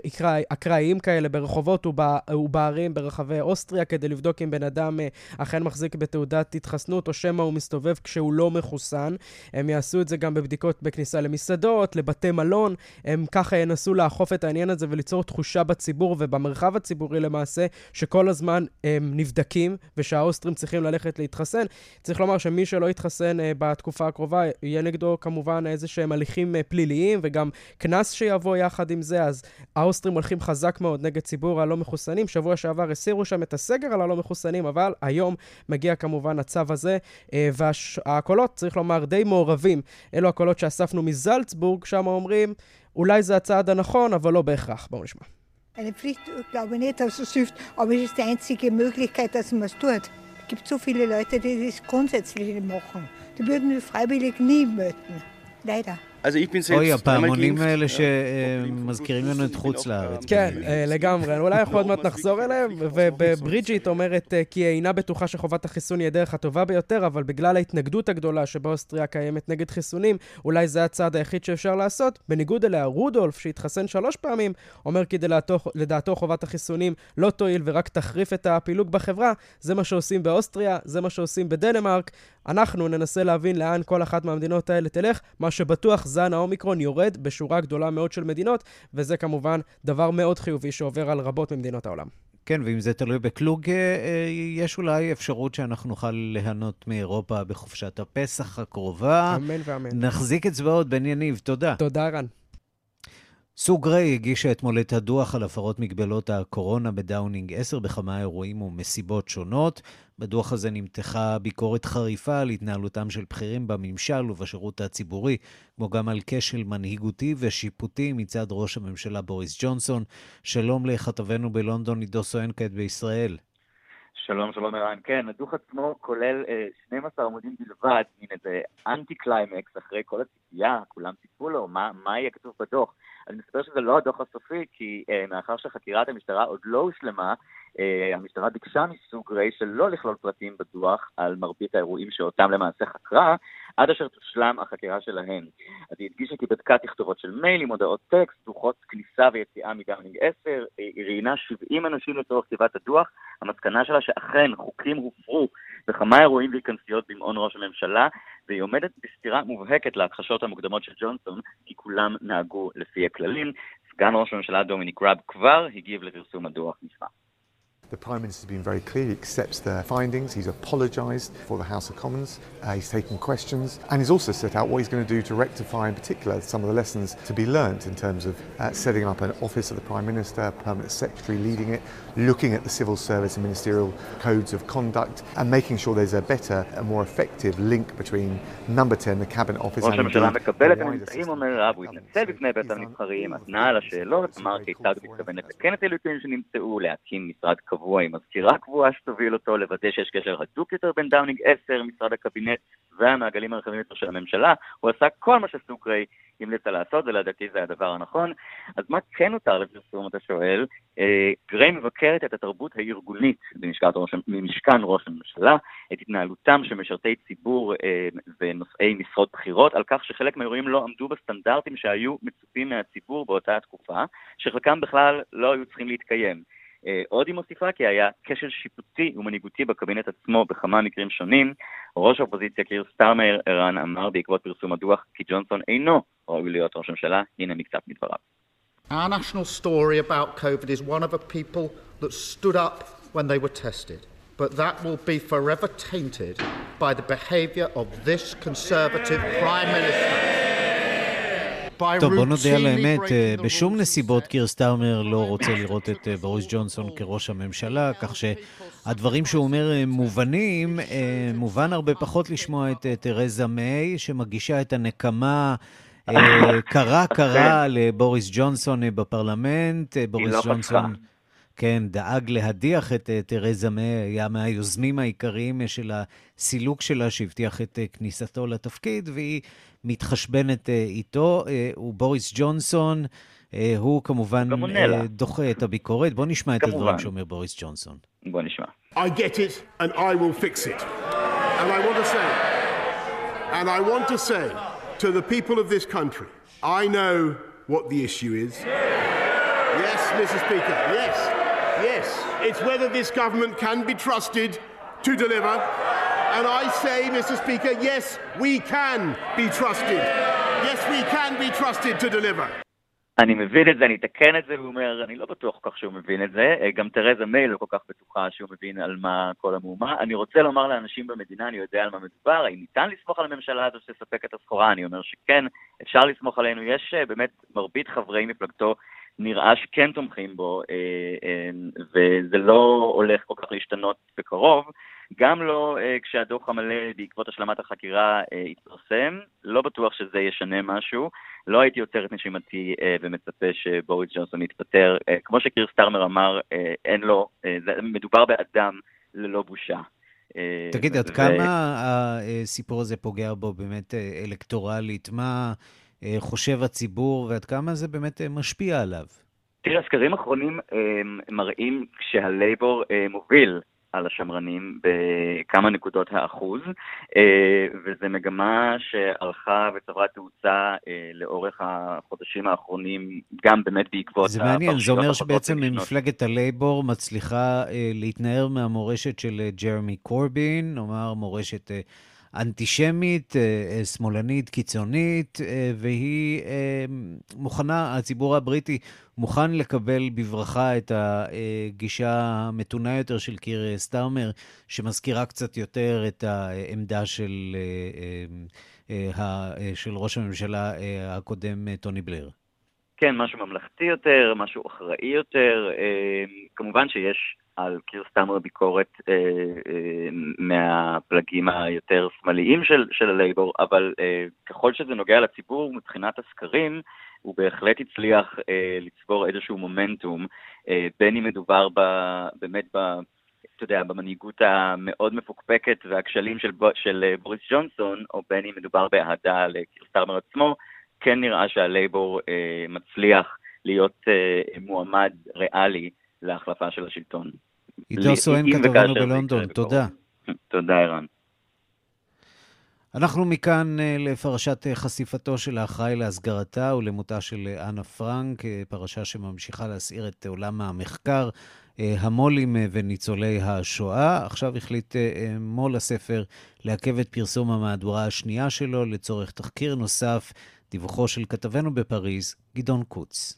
אקראיים כאלה ברחובות ובערים ברחבי אוסטריה, כדי לבדוק אם בן אדם אכן מחזיק בתעודת התחסנות או שמא הוא מסתובב כשהוא לא מחוסן. הם יעשו את זה גם בבדיקות בכניסה למסעדות, לבתי מלון. הם ככה ינסו לאכוף את העניין הזה וליצור תחושה בציבור ובמרחב הציבורי למעשה, שכל הזמן הם נבדקים ושהאוסטרים צריכים ללכת להתחסן. צריך לומר שמי שלא יתחסן בתקופה הקרובה, יהיה נגדו כמובן איזה שהם הליכים פליליים וגם כנס שיבוא יחד עם זה. אז האוסטרים הולכים חזק מאוד נגד ציבור הלא מחוסנים. שבוע שעבר הסירו שם את הסגר על הלא מחוסנים, אבל היום מגיע כמובן הצו הזה, והקולות, צריך לומר, די מעורבים. אלו הקולות שאספנו מזלצבורג, שם אומרים, אולי זה הצעד הנכון, אבל לא בהכרח. בואו נשמע. Eine Pflicht glaube ich nicht, dass es hilft, aber es ist die einzige Möglichkeit, dass man es tut. Es gibt so viele Leute, die das grundsätzlich nicht machen. Die würden freiwillig nie melden. Leider. אוי, הפעמונים האלה שמזכירים לנו את חוץ לארץ. כן, לגמרי. אולי יכול עוד מעט נחזור אליהם, ובריג'יט אומרת כי היא אינה בטוחה שחובת החיסון היא הדרך הטובה ביותר, אבל בגלל ההתנגדות הגדולה שבאוסטריה קיימת נגד חיסונים, אולי זה הצעד היחיד שאפשר לעשות. בניגוד אליה, רודולף, שהתחסן 3 פעמים, אומר כי לדעתו חובת החיסונים לא תועיל ורק תחריף את הפילוג בחברה. זה מה שעושים באוסטריה, זה מה שעושים בדנמרק. אנחנו ננסה להבין לאן כל אחת מהמדינות האלה תלך. מה שבטוח, זן האומיקרון יורד בשורה גדולה מאוד של מדינות, וזה כמובן דבר מאוד חיובי שעובר על רבות ממדינות העולם. כן, ואם זה תלוי בקלוג, יש אולי אפשרות שאנחנו נוכל ליהנות מאירופה בחופשת הפסח הקרובה. אמן ואמן. נחזיק אצבעות, בן יניב, תודה. תודה, רן. סו גריי הגישה אתמול את הדוח על הפרות מגבלות הקורונה בדאונינג 10 בכמה אירועים ומסיבות שונות. בדוח הזה נמתחה ביקורת חריפה על התנהלותם של בכירים בממשל ובשירות הציבורי, כמו גם על כשל מנהיגותי ושיפוטי מצד ראש הממשלה בוריס ג'ונסון. שלום לכתבנו בלונדון, עידו סואן כעת בישראל. שלום, שלום ערן. כן, הדוח עצמו כולל 12 עמודים בלבד, מן איזה אנטי-קליימקס אחרי כל הציפייה, כולם ציפו לו, מה יהיה כתוב בדוח? אני מספר שזה לא הדוח הסופי, כי מאחר שחקירת המשטרה עוד לא הושלמה, המשטרה ביקשה מסו גריי שלא לכלול פרטים בדוח על מרבית האירועים שאותם למעשה חקרה, עד אשר תושלם החקירה שלהן. אז היא הדגישה כי בדקה תכתובות של מיילים, הודעות טקסט, דוחות כניסה ויציאה מדאונינג 10, היא ראיינה 70 אנשים לצורך כתיבת הדוח. המסקנה שלה שאכן חוקים הופרו בכמה אירועים והתכנסויות במעון ראש הממשלה, והיא עומדת בסתירה מובהקת להכחשות המוקדמות של ג'ונסון, כי כולם נהגו לפי הכללים. סגן ראש הממשלה דומיניק ראב כבר הגיב לפרסום הדוח. נשמע. The Prime Minister has been very clear. He accepts the findings. He's apologised for the House of Commons. He's taken questions. And he's also set out what he's going to do to rectify, in particular, some of the lessons to be learnt in terms of setting up an office of the Prime Minister, a permanent secretary leading it, looking at the civil service and ministerial codes of conduct, and making sure there's a better and more effective link between number 10, the cabinet office, and ראש הממשלה מקבל את הממצאים, אומר רב, הוא התנצל בפני בית הנבחרים, ענה על השאלות, אמר כיצד הוא מתכוון לתקן את הליקויים שנמצאו, להקים משרד קבוע עם מזכירה קבועה שתוביל אותו, לוודא שיש קשר הדוק יותר בין דאונינג 10, משרד הקבינט והמעגלים הרחבים יותר של הממשלה. הוא עשה כל מה שסו גריי המליצה לעשות, ולדעתי זה הדבר הנכון. אז מה כן נותר לפרסום, אתה שואל? גריי מבקרת את התרבות הארגונית במשכן ראש הממשלה, את התנהלותם של משרתי ציבור ונושאי משרות בחירות, על כך שחלק מהאירועים לא עמדו בסטנדרטים שהיו מצופים מהציבור באותה התקופה, שחלקם בכלל לא היו צריכים להתקיים. עוד היא מוסיפה כי היה כשל שיפוטי ומנהיגותי בקבינט עצמו בכמה מקרים שונים. ראש האופוזיציה קיר סטארמר ערן אמר בעקבות פרסום הדוח כי ג'ונסון אינו ראוי להיות ראש הממשלה. הנה מקצת מדבריו. Our national story about COVID is one of a people that stood up when they were tested, but that will be forever tainted by the behavior of this conservative prime minister. טוב, בוא נודה על האמת, בשום נסיבות קיר סטארמר לא רוצה לראות את בוריס ג'ונסון כראש הממשלה, כך שהדברים שהוא אומר מובנים, מובן הרבה פחות לשמוע את תרזה מיי, שמגישה את הנקמה קרה לבוריס ג'ונסון בפרלמנט. בוריס ג'ונסון, כן, דאג להדיח את תרזה מיי, היה מהיוזמים העיקריים של הסילוק שלה שהבטיח את כניסתו לתפקיד, והיא מתחשבנת איתו. ובוריס ג'ונסון הוא כמובן דוחה את הביקורת. בוא נשמע את הדברים שאומר בוריס ג'ונסון. בוא נשמע. I get it and I will fix it. And I want to say to the people of this country, I know what the issue is. Yes, Mr. Speaker, yes. It's whether this government can be trusted to deliver. And I say, Mr. Speaker, yes, we can be trusted. Yes, we can be trusted to deliver. אני מבין את זה, אני אתקן את זה, הוא אומר, אני לא בטוח כל כך שהוא מבין את זה, גם תרזה מיי לא כל כך בטוחה שהוא מבין על מה כל המהומה. אני רוצה לומר לאנשים במדינה, אני יודע על מה מדובר, האם ניתן לסמוך על הממשלה הזו שתספק את הסחורה? אני אומר שכן, אפשר לסמוך עלינו, יש באמת מרבית חברי מפלגתו, נראה שכן תומכים בו, וזה לא הולך כל כך להשתנות בקרוב, גם לא כשהדוח המלא בעקבות השלמת החקירה יתפרסם, לא בטוח שזה ישנה משהו, לא הייתי יוצר את נשימתי ומצפה שבוריס ג'ונסון יתפטר, כמו שקיר סטארמר אמר, אין לו, מדובר באדם ללא בושה. תגיד, עד כמה הסיפור הזה פוגע בו באמת אלקטורלית? מה חושב הציבור ועד כמה זה באמת משפיע עליו? תראה, הסקרים האחרונים מראים כשהלייבור מוביל על השמרנים בכמה נקודות האחוז, וזה מגמה שהלכה וצברה תאוצה לאורך החודשים האחרונים, גם באמת בעקבות... זה מעניין, זה אומר שבעצם מפלגת הלייבור מצליחה להתנער מהמורשת של ג'רמי קורבין, נאמר מורשת אנטישמית, שמאלנית, קיצונית, והיא מוכנה, הציבור הבריטי מוכן לקבל בברכה את הגישה המתונה יותר של קיר סטארמר, שמזכירה קצת יותר את העמדה של ראש הממשלה הקודם טוני בלר. כן, משהו ממלכתי יותר, משהו אחראי יותר. כמובן שיש על קיר סטארמר ביקורת מהפלגים היותר שמאליים של הלייבור, אבל ככל שזה נוגע לציבור מבחינת הסקרים, הוא בהחלט הצליח לצבור איזשהו מומנטום, בין אם מדובר באמת אתה יודע, במנהיגות המאוד מפוקפקת והכשלים של בוריס ג'ונסון, או בין אם מדובר באהדה לקיר סטארמר עצמו, כן נראה שהלייבור מצליח להיות מועמד ריאלי להחלפה של השלטון. עידו סואן כתבנו בלונדון, תודה. תודה ערן. אנחנו מכאן לפרשת חשיפתו של האחראי להסגרתה ולמותה של אנה פרנק, פרשה שממשיכה להסעיר את עולם המחקר, המולים וניצולי השואה. עכשיו החליט מול הספר לעכב את פרסום המהדורה השנייה שלו לצורך תחקיר נוסף, דיווחו של כתבנו בפריז, גדעון קוץ.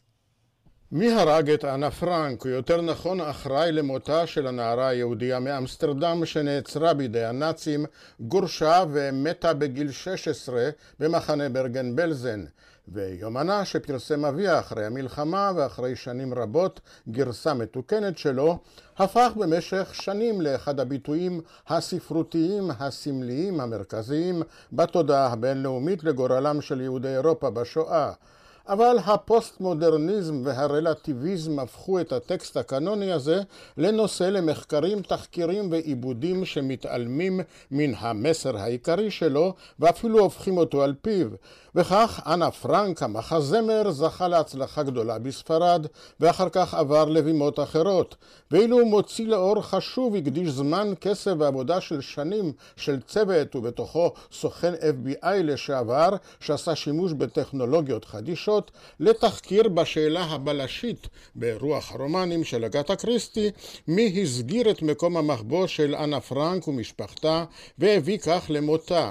מי הרג את אנה פרנק, או יותר נכון אחראי למותה של הנערה היהודיה מאמסטרדם שנעצרה בידי הנאצים, גורשה ומתה בגיל 16 במחנה ברגן בלזן, ויומנה שפרסם אביה אחרי המלחמה ואחרי שנים רבות גרסה מתוקנת שלו, הפך במשך שנים לאחד הביטויים הספרותיים הסמליים המרכזיים בתודעה הבינלאומית לגורלם של יהודי אירופה בשואה. אבל הפוסט-מודרניזם והרלטיביזם הפכו את הטקסט הקנוני הזה לנושא למחקרים, תחקירים ועיבודים שמתעלמים מן המסר העיקרי שלו ואפילו הופכים אותו על פיו. וכך אנה פרנק, המחזמר, זכה להצלחה גדולה בספרד ואחר כך עבר לבימות אחרות. ואילו הוא מוציא לאור חשוב, הקדיש זמן, כסף ועבודה של שנים של צוות ובתוכו סוכן FBI לשעבר שעשה שימוש בטכנולוגיות חדישות לתחקיר בשאלה הבלשית ברוח הרומנים של אגתה קריסטי, מי הסגיר את מקום המחבוא של אנה פרנק ומשפחתה והביא כך למותה.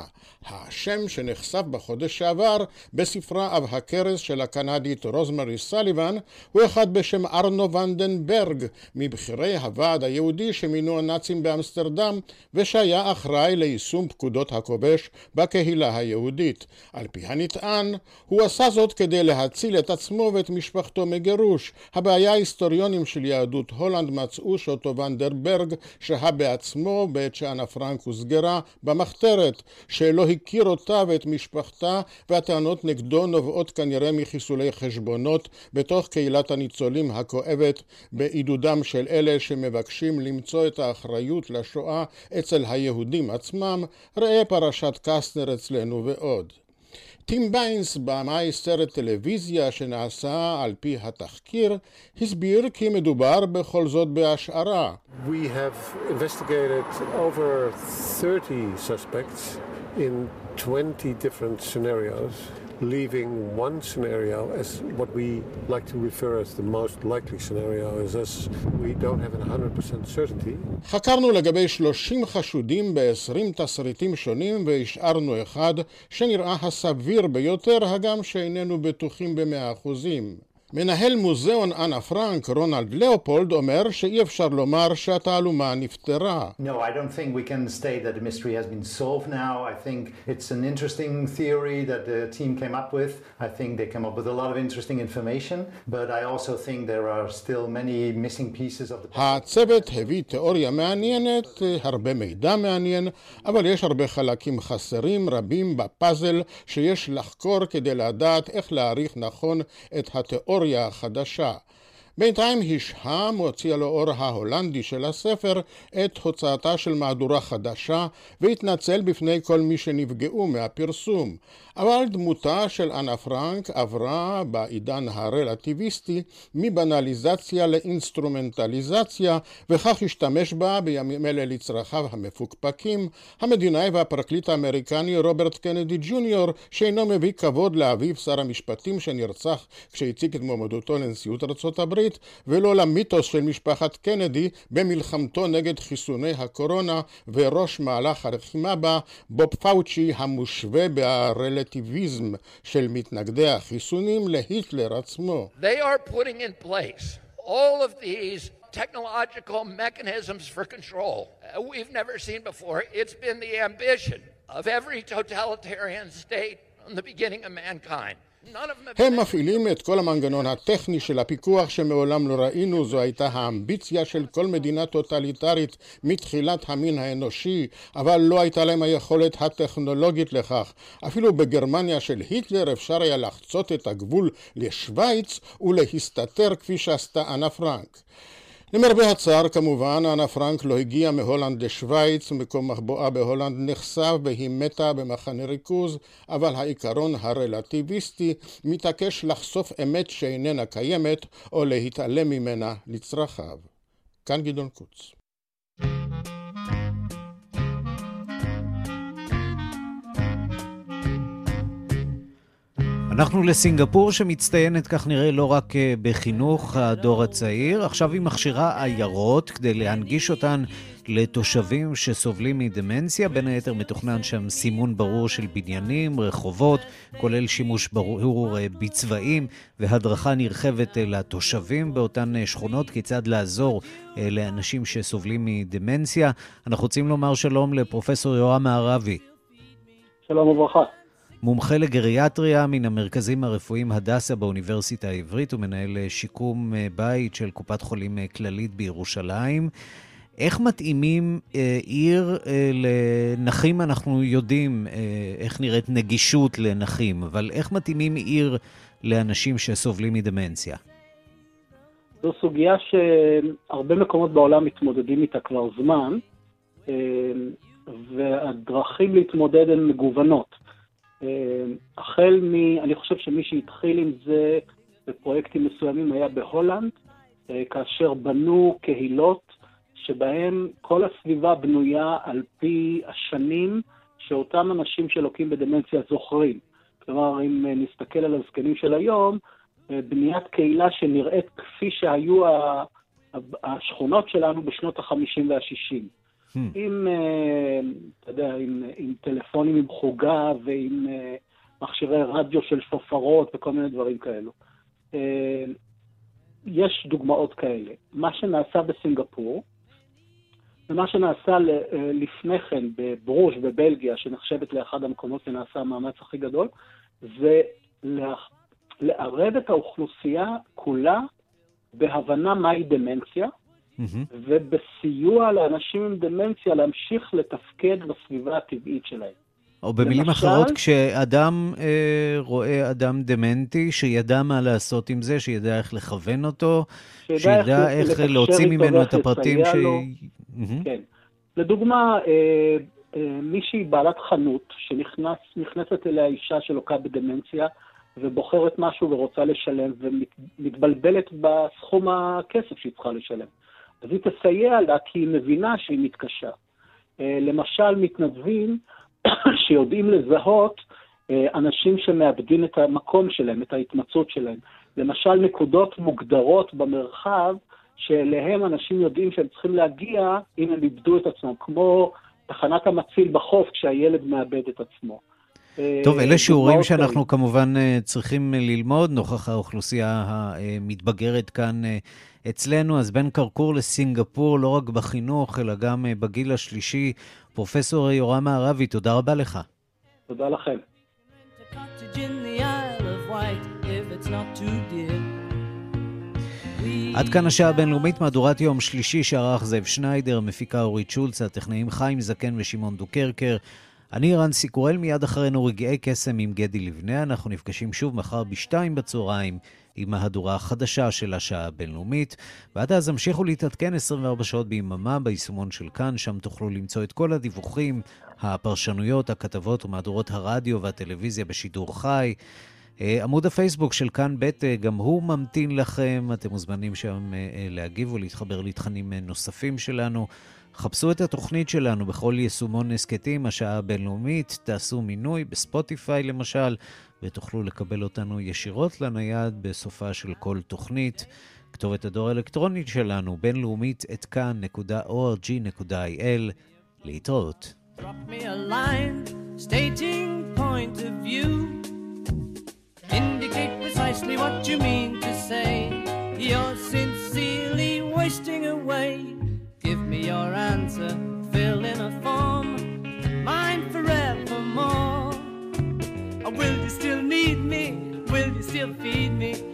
השם שנחשף בחודש שעבר בספרה אב הכרס של הקנדית רוזמרי סליבן הוא אחד בשם ארנו ונדנברג, מבחירי הוועד היהודי שמינו הנאצים באמסטרדם ושהיה אחראי ליישום פקודות הכובש בקהילה היהודית. על פי הנטען, הוא עשה זאת כדי להציל את עצמו ואת משפחתו מגירוש. הבעיה היסטוריונים של יהדות הולנד מצאו שאותו ונדנברג שהה בעצמו בעת שאנה פרנק הוסגרה במחתרת, שלא הכיר אותה ואת משפחתה, והטענות נגדו נובעות כנראה מחיסולי חשבונות בתוך קהילת הניצולים הכואבת בעידודם של אלה שמבקשים למצוא את האחריות לשואה אצל היהודים עצמם. ראה פרשת קסטנר אצלנו ועוד. טים ביינס, במאי סרט טלוויזיה שנעשה על פי התחקיר, הסביר כי מדובר בכל זאת בהשערה. We have investigated over 30 suspects in 20 different scenarios, leaving one scenario as what we like to refer as the most likely scenario, as we don't have a 100% certainty. חקרנו לגבי 30 חשודים ב-20 תסריטים שונים והשארנו אחד שנראה הסביר ביותר, הגם שאיננו בטוחים ב100%. מנהל מוזיאון אנה פרנק, רונלד לאופולד, אומר שאי אפשר לומר שהתעלומה נפתרה. No, I don't think we can state that the mystery has been solved now. I think it's an interesting theory that the team came up with. I think they came up with a lot of interesting information, but I also think there are still many missing pieces of the puzzle. הצוות הביא תיאוריה מעניינת, הרבה מידע מעניין, אבל יש הרבה חלקים חסרים רבים בפאזל שיש לחקור כדי לדעת איך להעריך נכון את התיאוריה החדשה. בינתיים השהה מוציא לאור ההולנדי של הספר את הוצאתה של מהדורה חדשה והתנצל בפני כל מי שנפגעו מהפרסום. אבל דמותה של אנה פרנק עברה בעידן הרלטיביסטי מבנליזציה לאינסטרומנטליזציה, וכך השתמש בה בימים אלה לצרכיו המפוקפקים המדינאי והפרקליט האמריקני רוברט קנדי ג'וניור, שאינו מביא כבוד לאביו שר המשפטים שנרצח כשהציג את מועמדותו לנשיאות ארצות הברית הברית, ולא למיתוס של משפחת קנדי במלחמתו נגד חיסוני הקורונה וראש מהלך הרחימה בה, בוב פאוצ'י, המושווה ברלטיביזם של מתנגדי החיסונים להיטלר עצמו. They are putting in place all of these technological mechanisms for control we've never seen before. It's been the ambition of every totalitarian state from the beginning of mankind. הם מפעילים את כל המנגנון הטכני של הפיקוח שמעולם לא ראינו. זו הייתה האמביציה של כל מדינה טוטליטרית מתחילת המין האנושי, אבל לא הייתה להם היכולת הטכנולוגית לכך. אפילו בגרמניה של היטלר אפשר היה לחצות את הגבול לשוויץ ולהסתתר כפי שעשתה אנה פרנק. למרבה הצער כמובן, אנה פרנק לא הגיעה מהולנד לשוויץ, מקום מחבואה בהולנד נחשף והיא מתה במחנה ריכוז, אבל העיקרון הרלטיביסטי מתעקש לחשוף אמת שאיננה קיימת או להתעלם ממנה לצרכיו. כאן גדעון קוץ. אנחנו לסינגפור שמצטיינת כך נראה לא רק בחינוך הדור הצעיר, עכשיו היא מכשירה עיירות כדי להנגיש אותן לתושבים שסובלים מדמנציה. בין היתר מתוכנן שם סימון ברור של בניינים, רחובות, כולל שימוש ברור בצבעים והדרכה נרחבת לתושבים באותן שכונות כיצד לעזור לאנשים שסובלים מדמנציה. אנחנו רוצים לומר שלום לפרופסור יורם מערבי. שלום וברכה. מומחה לגריאטריה מן המרכזים הרפואיים הדסה באוניברסיטה העברית ומנהל שיקום בית של קופת חולים כללית בירושלים. איך מתאימים עיר לנכים? אנחנו יודעים איך נראית נגישות לנכים, אבל איך מתאימים עיר לאנשים שסובלים מדמנציה? זו סוגיה שהרבה מקומות בעולם מתמודדים איתה כבר זמן, והדרכים להתמודד הן מגוונות. אני חושב שמי שהתחיל עם זה בפרויקטים מסוימים היה בהולנד, כאשר בנו קהילות שבהם כל הסביבה בנויה על פי השנים שאותם אנשים שלוקים בדמנציה זוכרים. כלומר, אם נסתכל על הזקנים של היום, בניית קהילה שנראית כפי שהיו השכונות שלנו בשנות ה-50 וה-60. עם טלפונים עם חוגה ועם מכשירי רדיו של שופרות וכל מיני דברים כאלו. יש דוגמאות כאלה. מה שנעשה בסינגפור, ומה שנעשה לפני כן בברוז' בבלגיה, שנחשבת לאחד המקומות שנעשה המאמץ הכי גדול, זה לערב את האוכלוסייה כולה בהבנה מהי דמנציה, ובסיוע לאנשים עם דמנציה להמשיך לתפקד בסביבה הטבעית שלהם. או במילים אחרות, כשאדם רואה אדם דמנטי, שידע מה לעשות עם זה, שידע איך לכוון אותו, שידע איך להוציא ממנו את הפרטים כן. לדוגמה, מישהי בעלת חנות, שנכנסת אליה אישה שלוקה בדמנציה, ובוחרת משהו ורוצה לשלם, ומתבלבלת בסכום הכסף שהיא צריכה לשלם. אז היא תסייע לה כי היא מבינה שהיא מתקשה. למשל, מתנדבים שיודעים לזהות אנשים שמאבדים את המקום שלהם, את ההתמצאות שלהם. למשל, נקודות מוגדרות במרחב שאליהם אנשים יודעים שהם צריכים להגיע אם הם איבדו את עצמם, כמו תחנת המציל בחוף כשהילד מאבד את עצמו. טוב, אלה שיעורים שאנחנו כמובן צריכים ללמוד, נוכח האוכלוסייה המתבגרת כאן אצלנו. אז בין קרקור לסינגפור, לא רק בחינוך, אלא גם בגיל השלישי. פרופסור יורם מערבי, תודה רבה לך. תודה לכם. עד כאן השעה הבינלאומית, מהדורת יום שלישי שערך זאב שניידר, מפיקה אורית שולץ, הטכנאים חיים זקן ושמעון דוקרקר. אני רן סיקורל, מיד אחרינו רגעי קסם עם גדי לבנה. אנחנו נפגשים שוב מחר ב14:00 עם מהדורה החדשה של השעה הבינלאומית. ועד אז המשיכו להתעדכן 24 שעות ביממה ביישומון של כאן, שם תוכלו למצוא את כל הדיווחים, הפרשנויות, הכתבות ומהדורות הרדיו והטלוויזיה בשידור חי. עמוד הפייסבוק של כאן בית גם הוא ממתין לכם, אתם מוזמנים שם להגיב ולהתחבר לתכנים נוספים שלנו. חפשו את התוכנית שלנו בכל יישומון הסקטים, השעה הבינלאומית, תעשו מינוי בספוטיפיי למשל, ותוכלו לקבל אותנו ישירות לנייד בסופה של כל תוכנית. כתובת הדואר האלקטרונית שלנו בינלאומית @kan.org.il. להתראות. Drop me a line stating point of view. Indicate precisely what you mean to say. You're sincerely wasting away. Give me your answer, fill in a form, mine forevermore. Or will you still need me? Will you still feed me?